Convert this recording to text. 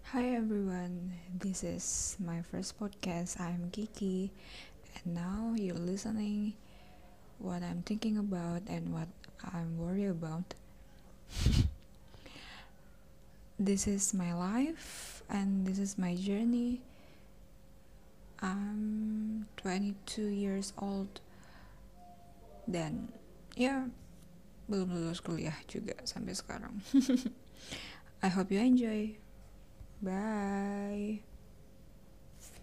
Hi everyone, this is my first podcast. I'm Kiki, and now you're listening what I'm thinking about and what I'm worried about. This is my life and this is my journey. I'm 22 years old dan ya belum lulus kuliah juga sampai sekarang. I hope you enjoy. Bye.